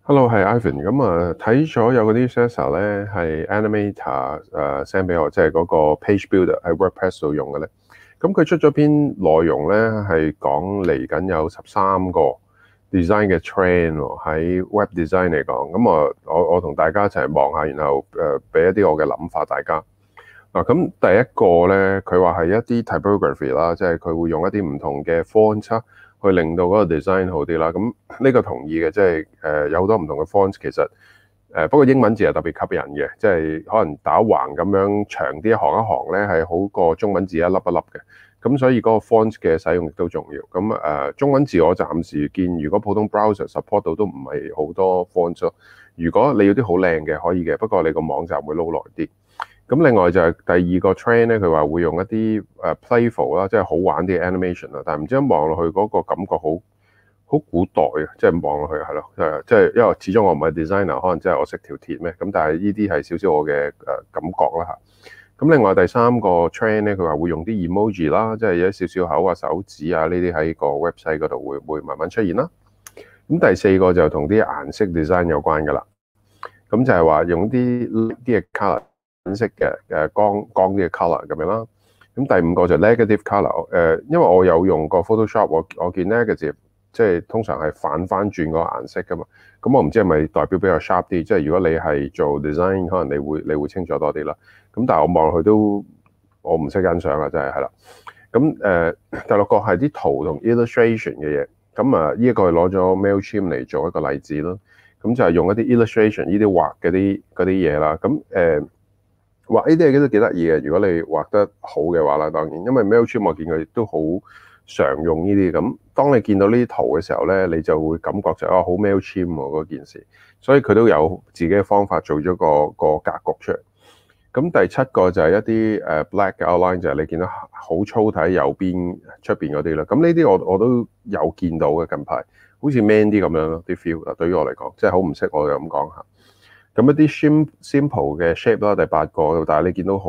Hello，係 Ivan。咁睇咗有嗰啲 Sensor 咧係 Animator send 俾我，即係嗰個 Page Builder 喺 WordPress 度用嘅咧。咁佢出咗篇內容咧係講嚟緊有13個 design 嘅 trend 喎，喺 Web Design 嚟講。咁我同大家一齊望下，然後俾一啲我嘅諗法大家。嗱，咁第一個咧，佢話係一啲 typography 啦，即係佢會用一啲唔同嘅 font 去令到嗰個 design 好啲啦。咁呢個同意嘅，即係有好多唔同嘅 font 其實不過英文字係特別吸引嘅，即係可能打橫咁樣長啲一行一行咧係好過中文字一粒一粒嘅。咁所以嗰個 font 嘅使用亦都重要。咁中文字我暫時見，如果普通 browser support 到都唔係好多 font 咯。如果你要啲好靚嘅可以嘅，不過你個網站會撈耐啲。咁另外就係第二個 trend 咧，佢話會用一啲playful 啦，即係好玩啲 animation 啦，但係唔知一望落去嗰個感覺好古代啊，即係望落去係咯，即係因為始終我唔係 designer，可能即係我識條鐵咩，咁但係呢啲係少少我嘅感覺啦嚇。咁另外第三個 trend 咧，佢話會用啲 emoji 啦，即係有少少口啊、手指啊呢啲喺個 website 嗰度會慢慢出現啦。咁第四個就同啲顏色 design 有關㗎啦，咁就係話用啲嘅 color。顏色嘅光啲嘅 color 咁樣啦。咁第五個就 negative color，因為我有用過 Photoshop，我見 negative 即係通常係反翻轉個顏色噶嘛。咁我唔知係咪代表比較 sharp 啲，即係如果你係做 design，可能你會清楚多啲啦。咁但係我望落去都我唔識欣賞啦，真係啦。咁第六個係啲圖同 illustration 嘅嘢。咁呢一個係攞咗 Mailchimp 嚟做一個例子咯。咁就係用一啲 illustration 呢啲畫嗰啲嘢啦。咁畫呢啲嘢都幾得意嘅，如果你畫得好嘅話啦，當然，因為 Mailchimp 我見佢都好常用呢啲咁。當你見到呢啲圖嘅時候咧，你就會感覺就好 Mailchimp 嗰件事，所以佢都有自己嘅方法做咗個格局出嚟。咁第七個就係一啲black outline，就係你見到好粗體右邊出邊嗰啲啦。咁呢啲我都有見到嘅，近排好似 man 啲咁樣咯，啲 feel 啊，對於我嚟講，即係好唔識我就咁講下。咁一啲 simple 嘅 shape 啦，第八個，但係你見到好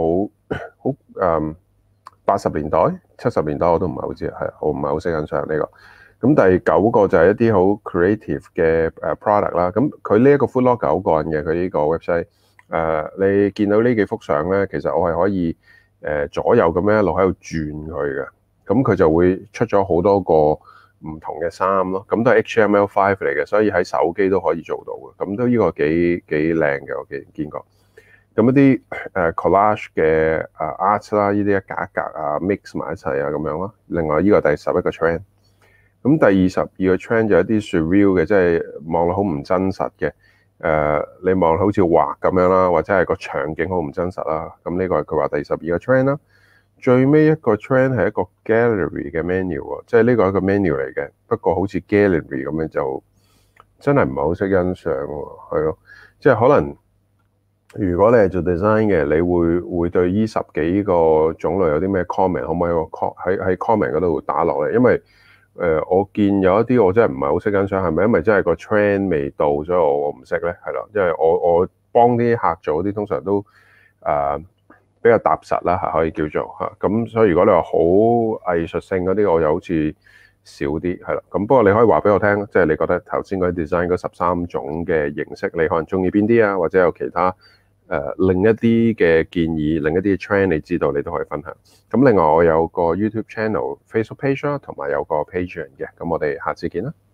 80年代、70年代我都唔係好知，我唔係好識欣賞呢個。咁第九個就係一啲好 creative 嘅product 啦。咁佢呢一個 Foodlog 9個人嘅佢呢個 website，你見到呢幾幅相咧，其實我係可以左右咁樣一路喺度轉佢嘅，咁佢就會出咗好多個唔同嘅衫咯，咁都係 HTML5 嚟嘅，所以喺手機都可以做到嘅，咁都呢個幾靚嘅，我見過。咁一啲collage 嘅art 啦，呢啲一格一格啊 mix 埋一齊啊咁樣咯。另外呢個第11個 trend，咁第22個 trend 就一啲 surreal 嘅，即係望落好唔真實嘅。你望好似畫咁樣啦，或者係個場景好唔真實啦。咁呢個係佢話第12個 trend 啦。最尾一個 trend 係一個 gallery 嘅 menu 喎，即係呢個係一個 menu 嚟嘅，不過好似 gallery 咁樣就真係唔係好識欣賞喎，係咯，即係可能如果你係做 design 嘅，你會對呢10幾個種類有啲咩 comment，可唔可以喺 comment 嗰度打落嚟？因為我見有一啲我真係唔係好識欣賞，係咪因為真係個 trend 未到，所以我唔識咧？係咯，因為我幫啲客做嗰啲通常都比較踏實啦，可以叫做嚇。咁所以如果你話好藝術性嗰啲，我又好似少啲，係啦。咁不過你可以話俾我聽，即係你覺得頭先嗰啲 design 嗰13種嘅形式，你可能中意邊啲啊？或者有其他另一啲嘅建議，另一啲 trend 你知道，你都可以分享。咁另外我有個 YouTube channel、Facebook page 啦，同埋有個 Patreon 嘅。咁我哋下次見啦。